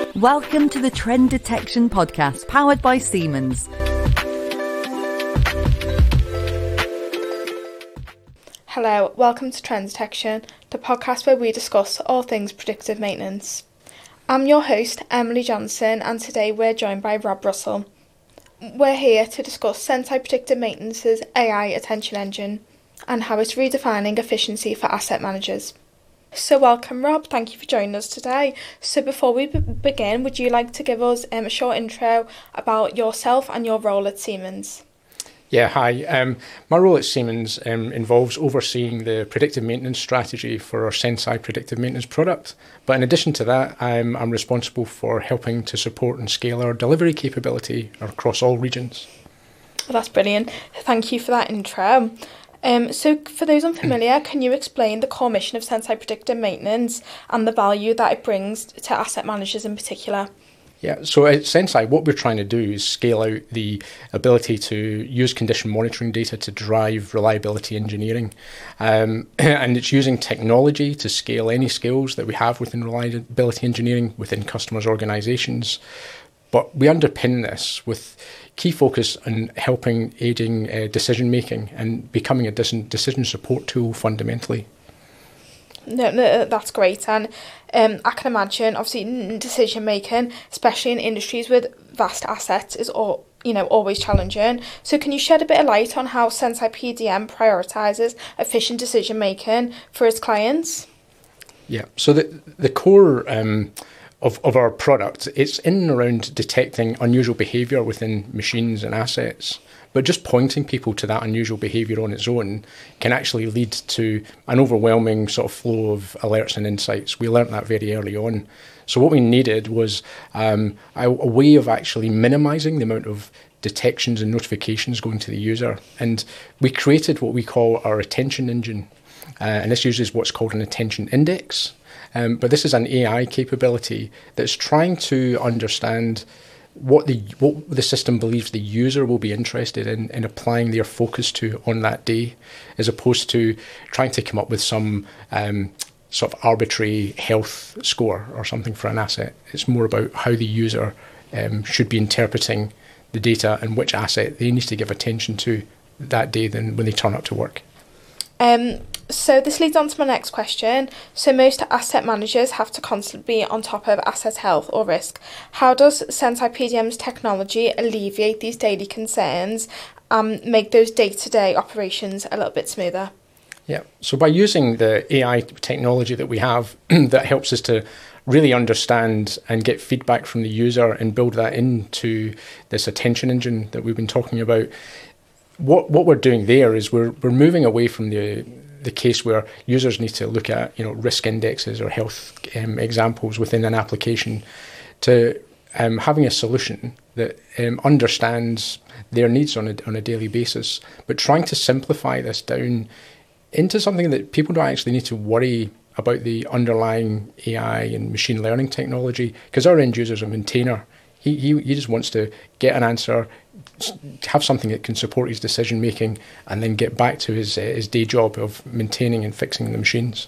Welcome to the Trend Detection Podcast, powered by Siemens. Hello, welcome to Trend Detection, the podcast where we discuss all things predictive maintenance. I'm your host, Emily Johnson, and today we're joined by Rob Russell. We're here to discuss Senseye Predictive Maintenance's AI Attention Engine and how it's redefining efficiency for asset managers. So welcome, Rob. Thank you for joining us today. So before we begin, would you like to give us a short intro about yourself and your role at Siemens? Yeah, hi. My role at Siemens involves overseeing the predictive maintenance strategy for our Senseye Predictive Maintenance product. But in addition to that, I'm responsible for helping to support and scale our delivery capability across all regions. Well, that's brilliant. Thank you for that intro. So for those unfamiliar, can you explain the core mission of Senseye Predictive Maintenance and the value that it brings to asset managers in particular? Yeah, so at Senseye, what we're trying to do is scale out the ability to use condition monitoring data to drive reliability engineering. And it's using technology to scale any skills that we have within reliability engineering within customers' organizations. But we underpin this with key focus on aiding decision making and becoming a decision support tool fundamentally. No, that's great. And I can imagine, obviously, decision making, especially in industries with vast assets, is always challenging. So can you shed a bit of light on how Senseye PDM prioritises efficient decision making for its clients? Yeah, so the core of our product, it's in and around detecting unusual behaviour within machines and assets. But just pointing people to that unusual behaviour on its own can actually lead to an overwhelming sort of flow of alerts and insights. We learnt that very early on. So what we needed was a way of actually minimising the amount of detections and notifications going to the user. And we created what we call our attention engine. And this uses what's called an attention index. But this is an AI capability that's trying to understand what the system believes the user will be interested in applying their focus to on that day, as opposed to trying to come up with some sort of arbitrary health score or something for an asset. It's more about how the user should be interpreting the data and which asset they need to give attention to that day than when they turn up to work. So this leads on to my next question. So most asset managers have to constantly be on top of asset health or risk. How does Senseye PDM's technology alleviate these daily concerns and make those day-to-day operations a little bit smoother? Yeah, so by using the AI technology that we have that helps us to really understand and get feedback from the user and build that into this attention engine that we've been talking about, what we're doing there is we're moving away from the case where users need to look at risk indexes or health examples within an application to having a solution that understands their needs on a daily basis, but trying to simplify this down into something that people don't actually need to worry about the underlying AI and machine learning technology, because our end user is a maintainer. He just wants to get an answer, have something that can support his decision making, and then get back to his day job of maintaining and fixing the machines.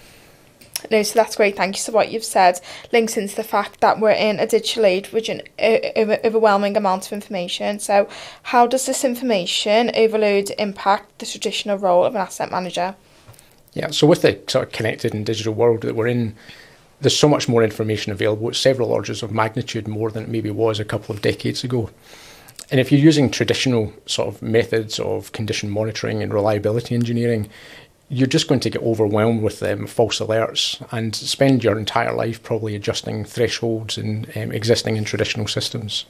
No, so that's great. Thank you. So what you've said links into the fact that we're in a digital age with an overwhelming amount of information. So how does this information overload impact the traditional role of an asset manager? Yeah, so with the sort of connected and digital world that we're in, there's so much more information available. It's several orders of magnitude more than it maybe was a couple of decades ago. And if you're using traditional sort of methods of condition monitoring and reliability engineering, you're just going to get overwhelmed with false alerts and spend your entire life probably adjusting thresholds and existing in traditional systems.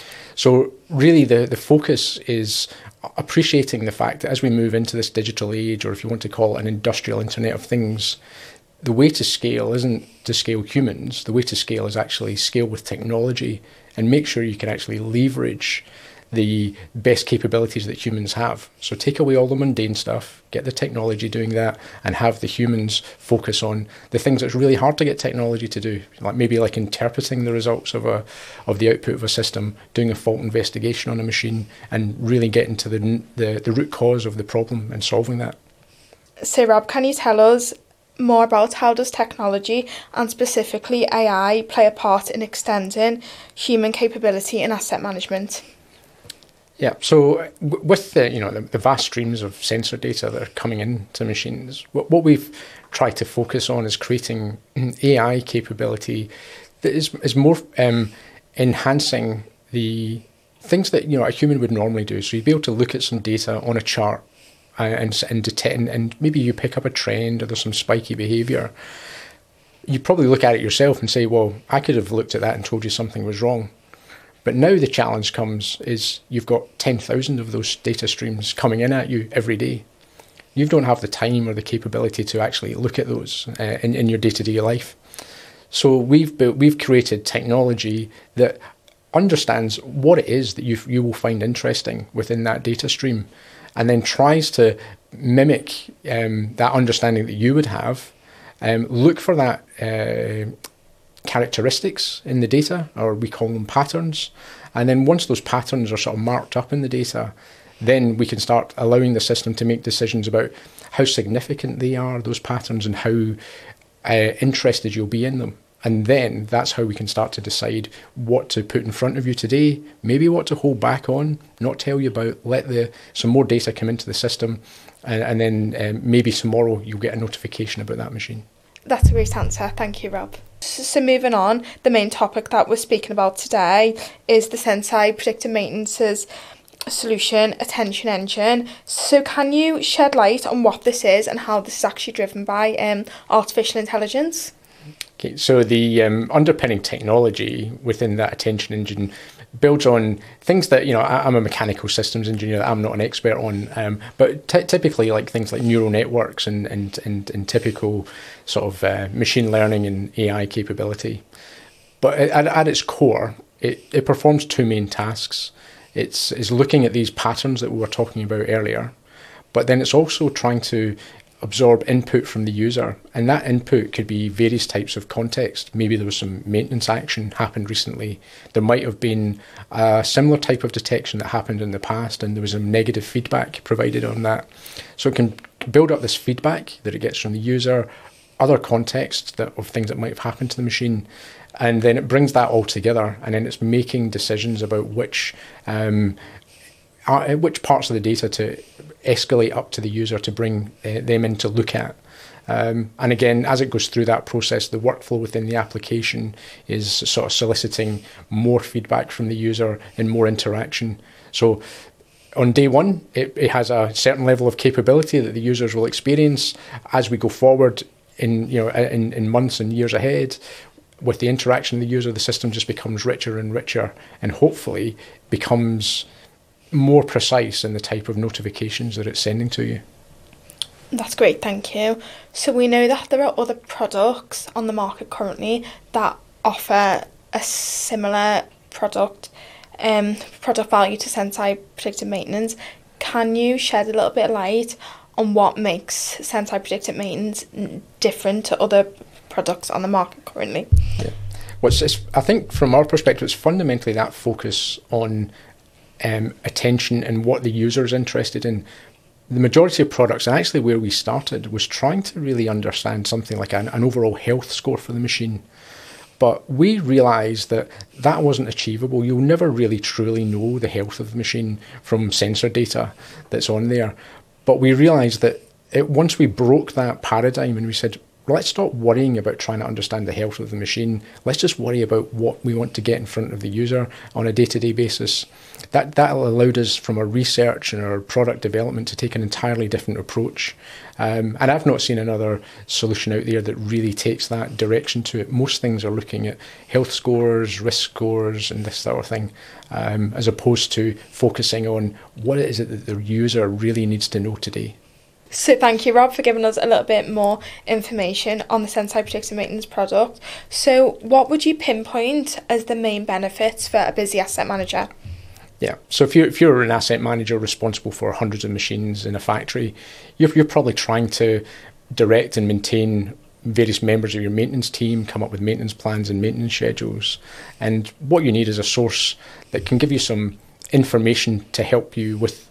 So really the focus is appreciating the fact that as we move into this digital age, or if you want to call it an industrial Internet of Things, the way to scale isn't to scale humans. The way to scale is actually scale with technology and make sure you can actually leverage the best capabilities that humans have. So take away all the mundane stuff, get the technology doing that, and have the humans focus on the things that's really hard to get technology to do, like interpreting the results of the output of a system, doing a fault investigation on a machine, and really getting to the root cause of the problem and solving that. So Rob, can you tell us more about how does technology, and specifically AI, play a part in extending human capability in asset management? Yeah, so with the vast streams of sensor data that are coming into machines, what we've tried to focus on is creating AI capability that is more enhancing the things that a human would normally do. So you'd be able to look at some data on a chart and detect, and maybe you pick up a trend or there's some spiky behaviour. You probably look at it yourself and say, well, I could have looked at that and told you something was wrong. But now the challenge comes is you've got 10,000 of those data streams coming in at you every day. You don't have the time or the capability to actually look at those in your day-to-day life. So we've created technology that understands what it is that you will find interesting within that data stream, and then tries to mimic that understanding that you would have, look for that characteristics in the data, or we call them patterns, and then once those patterns are sort of marked up in the data, then we can start allowing the system to make decisions about how significant they are, those patterns, and how interested you'll be in them. And then that's how we can start to decide what to put in front of you today, maybe what to hold back on, not tell you about, let some more data come into the system, and then maybe tomorrow you'll get a notification about that machine. That's a great answer. Thank you, Rob. So moving on, the main topic that we're speaking about today is the Senseye Predictive Maintenance's solution, Attention Engine. So can you shed light on what this is and how this is actually driven by artificial intelligence? Okay, so the underpinning technology within that Attention Engine builds on things that, I'm a mechanical systems engineer, I'm not an expert on, but typically like things like neural networks and typical sort of machine learning and AI capability. But at its core, it performs two main tasks. It's looking at these patterns that we were talking about earlier, but then it's also trying to absorb input from the user, and that input could be various types of context. Maybe there was some maintenance action happened recently. There might have been a similar type of detection that happened in the past, and there was some negative feedback provided on that. So it can build up this feedback that it gets from the user, other context of things that might have happened to the machine, and then it brings that all together, and then it's making decisions about which parts of the data to escalate up to the user to bring them in to look at. And again, as it goes through that process, the workflow within the application is sort of soliciting more feedback from the user and more interaction. So on day one, it has a certain level of capability that the users will experience. As we go forward in months and years ahead, with the interaction of the user, the system just becomes richer and richer, and hopefully becomes more precise in the type of notifications that it's sending to you. That's great, thank you. So we know that there are other products on the market currently that offer a similar product value to Senseye Predictive Maintenance. Can you shed a little bit of light on what makes Senseye Predictive Maintenance different to other products on the market currently? Yeah. I think from our perspective, it's fundamentally that focus on attention and what the user is interested in. The majority of products, and actually where we started, was trying to really understand something like an overall health score for the machine. But we realised that wasn't achievable. You'll never really truly know the health of the machine from sensor data that's on there. But we realised that once we broke that paradigm and we said, let's stop worrying about trying to understand the health of the machine. Let's just worry about what we want to get in front of the user on a day-to-day basis. That allowed us, from our research and our product development, to take an entirely different approach. And I've not seen another solution out there that really takes that direction to it. Most things are looking at health scores, risk scores, and this sort of thing, as opposed to focusing on what is it that the user really needs to know today. So thank you, Rob, for giving us a little bit more information on the Senseye Predictive Maintenance product. So what would you pinpoint as the main benefits for a busy asset manager? Yeah, so if you're an asset manager responsible for hundreds of machines in a factory, you're probably trying to direct and maintain various members of your maintenance team, come up with maintenance plans and maintenance schedules. And what you need is a source that can give you some information to help you with that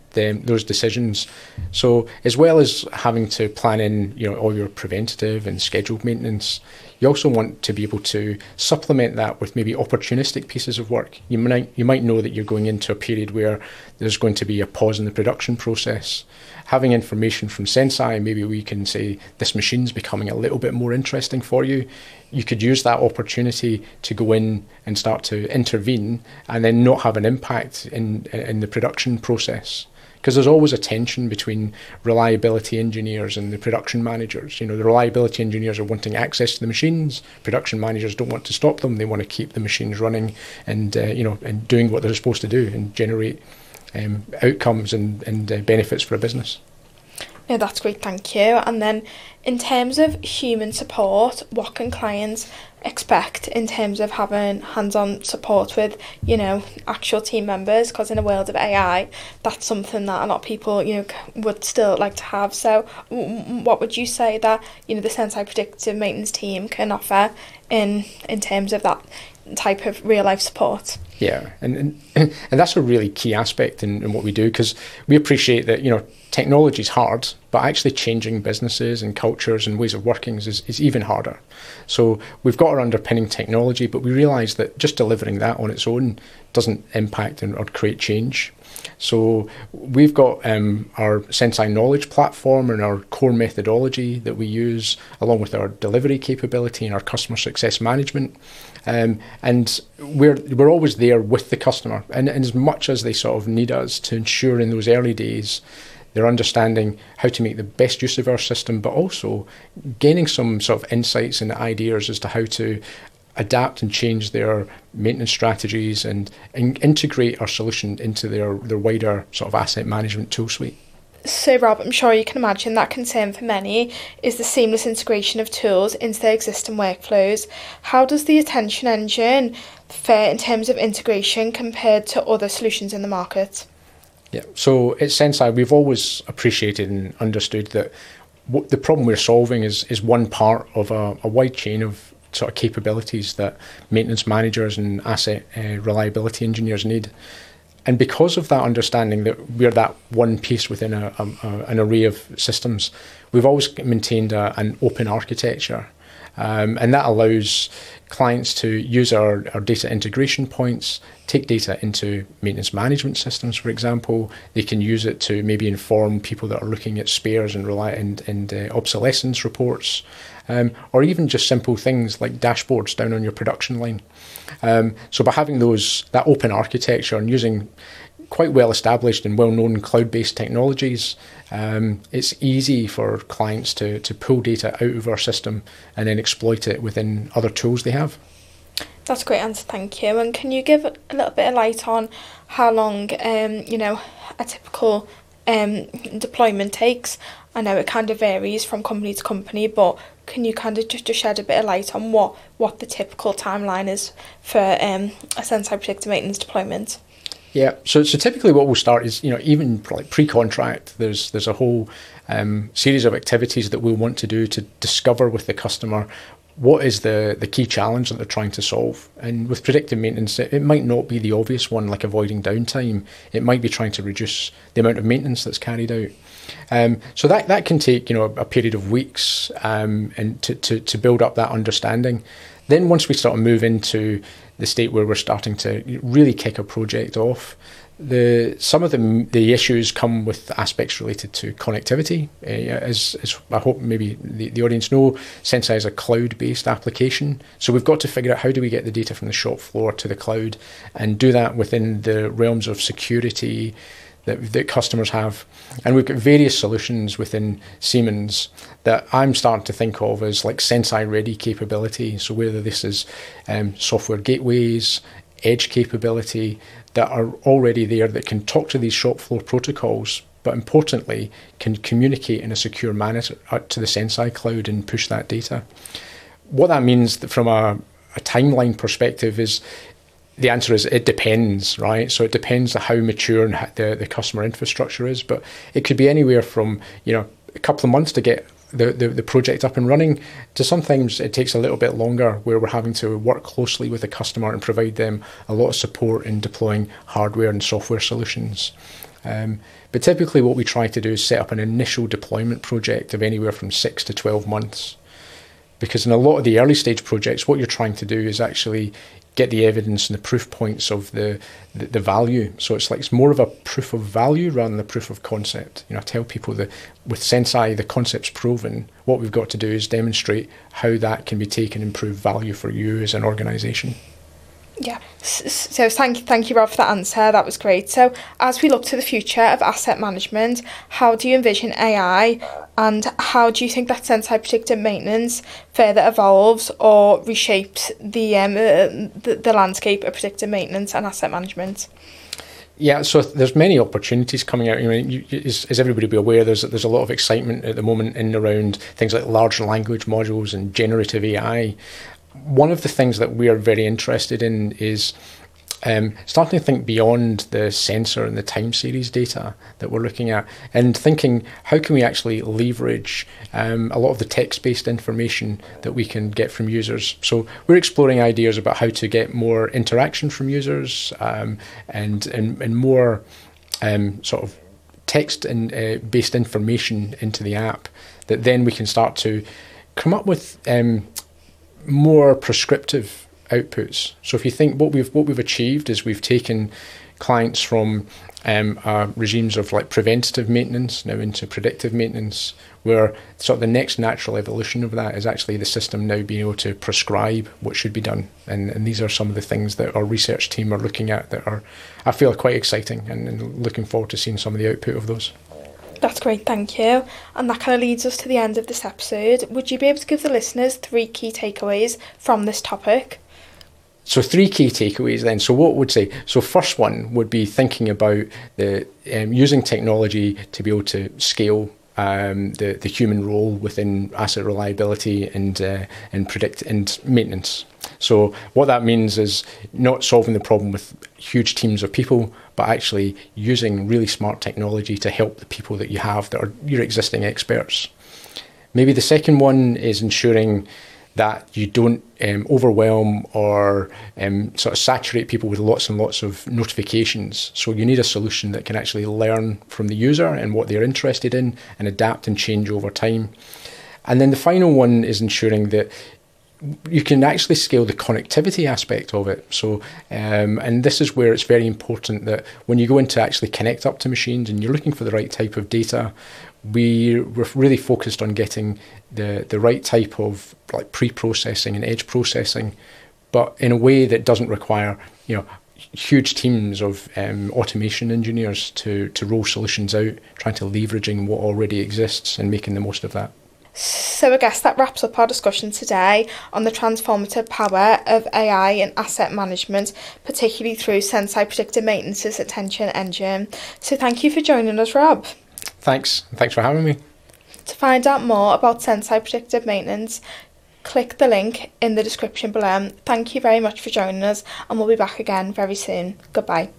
those decisions. So as well as having to plan in, all your preventative and scheduled maintenance, you also want to be able to supplement that with maybe opportunistic pieces of work. You might know that you're going into a period where there's going to be a pause in the production process. Having information from Senseye, maybe we can say this machine's becoming a little bit more interesting for you. You could use that opportunity to go in and start to intervene and then not have an impact in the production process. Because there's always a tension between reliability engineers and the production managers. The reliability engineers are wanting access to the machines. Production managers don't want to stop them. They want to keep the machines running and and doing what they're supposed to do and generate outcomes and benefits for a business. No, that's great, thank you. And then in terms of human support, what can clients expect in terms of having hands-on support with, actual team members? Because in a world of AI, that's something that a lot of people, would still like to have. So what would you say that, the Senseye predictive maintenance team can offer in terms of that type of real-life support? Yeah, and that's a really key aspect in what we do, because we appreciate that, technology is hard, but actually changing businesses and cultures and ways of working is even harder. So we've got our underpinning technology, but we realise that just delivering that on its own doesn't impact or create change. So we've got our Senseye Knowledge platform and our core methodology that we use, along with our delivery capability and our customer success management. And we're always there with the customer, and as much as they sort of need us to ensure in those early days they're understanding how to make the best use of our system, but also gaining some sort of insights and ideas as to how to adapt and change their maintenance strategies and integrate our solution into their wider sort of asset management tool suite. So Rob, I'm sure you can imagine that concern for many is the seamless integration of tools into their existing workflows. How does the Attention Engine fare in terms of integration compared to other solutions in the market? Yeah, so at Senseye, we've always appreciated and understood that the problem we're solving is one part of a wide chain of sort of capabilities that maintenance managers and asset reliability engineers need. And because of that understanding that we're that one piece within an array of systems, we've always maintained an open architecture. And that allows clients to use our data integration points, take data into maintenance management systems, for example. They can use it to maybe inform people that are looking at spares and obsolescence reports, or even just simple things like dashboards down on your production line. So by having that open architecture and using quite well established and well-known cloud-based technologies, it's easy for clients to pull data out of our system and then exploit it within other tools they have. That's a great answer, thank you. And can you give a little bit of light on how long a typical deployment takes? I know it kind of varies from company to company, but can you kind of just shed a bit of light on what the typical timeline is for a Senseye predictive maintenance deployment? Yeah, so typically what we'll start is, even like pre-contract, there's a whole series of activities that we'll want to do to discover with the customer what is the key challenge that they're trying to solve. And with predictive maintenance, it might not be the obvious one like avoiding downtime. It might be trying to reduce the amount of maintenance that's carried out. So that can take, a period of weeks and to build up that understanding. Then once we sort of move into the state where we're starting to really kick a project off, some of the issues come with aspects related to connectivity. As I hope maybe the audience know, Senseye is a cloud-based application. So we've got to figure out how do we get the data from the shop floor to the cloud and do that within the realms of security that customers have. And we've got various solutions within Siemens that I'm starting to think of as like Senseye ready capability. So whether this is software gateways, edge capability that are already there that can talk to these shop floor protocols, but importantly can communicate in a secure manner to the Senseye cloud and push that data. What that means from a timeline perspective is, the answer is it depends, right? So it depends on how mature and the customer infrastructure is, but it could be anywhere from a couple of months to get the project up and running to sometimes it takes a little bit longer where we're having to work closely with the customer and provide them a lot of support in deploying hardware and software solutions. But typically what we try to do is set up an initial deployment project of anywhere from 6 to 12 months. Because in a lot of the early stage projects, what you're trying to do is actually get the evidence and the proof points of the value. So it's more of a proof of value rather than a proof of concept. I tell people that with Senseye, the concept's proven. What we've got to do is demonstrate how that can be taken and prove value for you as an organisation. Yeah, so thank you, Rob, for that answer. That was great. So as we look to the future of asset management, how do you envision AI, and how do you think that Senseye predictive maintenance further evolves or reshapes the landscape of predictive maintenance and asset management? Yeah, so there's many opportunities coming out. As everybody be aware, there's a lot of excitement at the moment in and around things like large language modules and generative AI. One of the things that we are very interested in is starting to think beyond the sensor and the time series data that we're looking at, and thinking how can we actually leverage a lot of the text-based information that we can get from users. So we're exploring ideas about how to get more interaction from users and more sort of text and based information into the app, that then we can start to come up with more prescriptive outputs. So if you think what we've achieved is we've taken clients from regimes of like preventative maintenance now into predictive maintenance, where sort of the next natural evolution of that is actually the system now being able to prescribe what should be done. And these are some of the things that our research team are looking at that are, I feel, quite exciting, and looking forward to seeing some of the output of those. That's great, thank you. And that kind of leads us to the end of this episode. Would you be able to give the listeners 3 key takeaways from this topic? So 3 key takeaways then. So what would say? So first one would be thinking about the using technology to be able to scale the human role within asset reliability and predict and maintenance. So what that means is not solving the problem with huge teams of people, but actually using really smart technology to help the people that you have that are your existing experts. Maybe the second one is ensuring that you don't overwhelm or sort of saturate people with lots and lots of notifications. So you need a solution that can actually learn from the user and what they're interested in and adapt and change over time. And then the final one is ensuring that you can actually scale the connectivity aspect of it. So, and this is where it's very important that when you go in to actually connect up to machines and you're looking for the right type of data, we're really focused on getting the right type of like pre-processing and edge processing, but in a way that doesn't require, huge teams of automation engineers to roll solutions out, trying to leveraging what already exists and making the most of that. So I guess that wraps up our discussion today on the transformative power of AI in asset management, particularly through Senseye Predictive Maintenance's attention engine. So thank you for joining us, Rob. Thanks for having me. To find out more about Senseye Predictive Maintenance, click the link in the description below. Thank you very much for joining us, and we'll be back again very soon. Goodbye.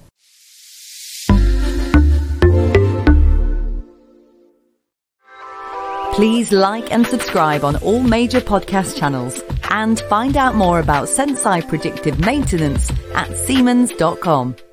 Please like and subscribe on all major podcast channels, and find out more about Senseye Predictive Maintenance at Siemens.com.